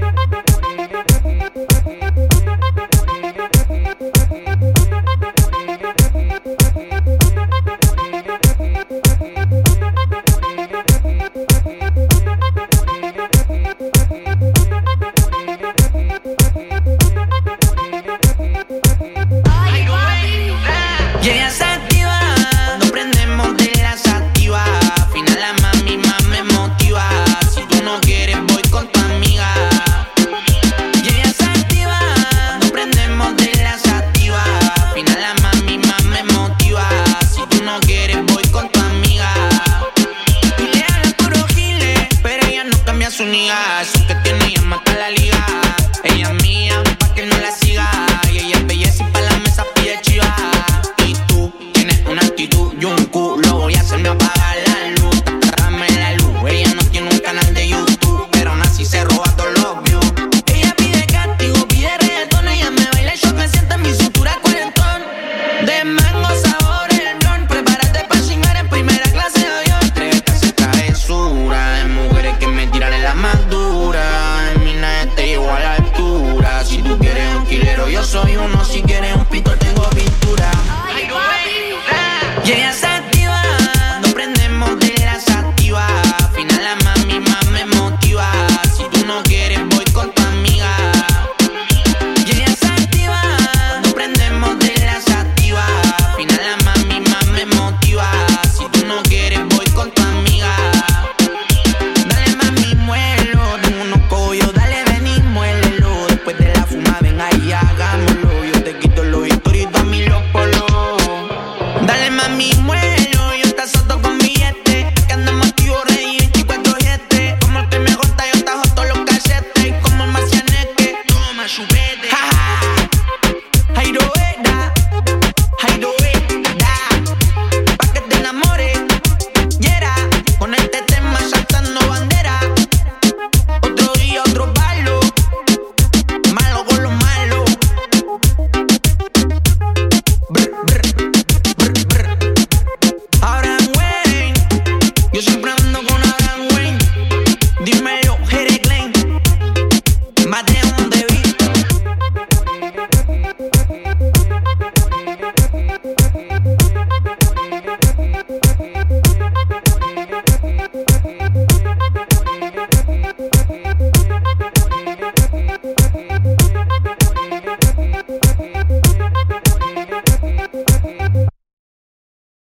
Eso que tiene ella mata la liga. Ella es mía, pa' que no la siga. Y ella es belleza y pa' la mesa pide chiva. Y tú tienes una actitud y un culo. Voy a hacerme apagar la luz. Dame la luz. Ella no tiene un canal de YouTube, pero aún así se roba todos los views. Ella pide castigo, pide reggaetón. Ella me baila y yo me siento en mi cintura cuarentón. De mango sabor el blon. Prepárate pa' chingar en primera clase de avión. Atrévete a hacer travesura. De mujeres que me tiran en la más dura. En mi nave te llevo a la altura. Si tú quieres un killero, yo soy uno. Si quieres un pito, tengo pintura. Y ella se activa, no prendemos de la sativa. Al final la mami más me motiva. Si tú no quieres, voy con tu amiga. Y ella se activa, no prendemos de la sativa. Al final la mami más me motiva. Si tú no quieres, voy con tu amiga. Dale mami, muelo, tengo unos collos, dale ven y muélelo. Después de la fuma, ven ahí, hagámoslo. Yo te quito los historitos a mí los polos. Dale mami, muelo.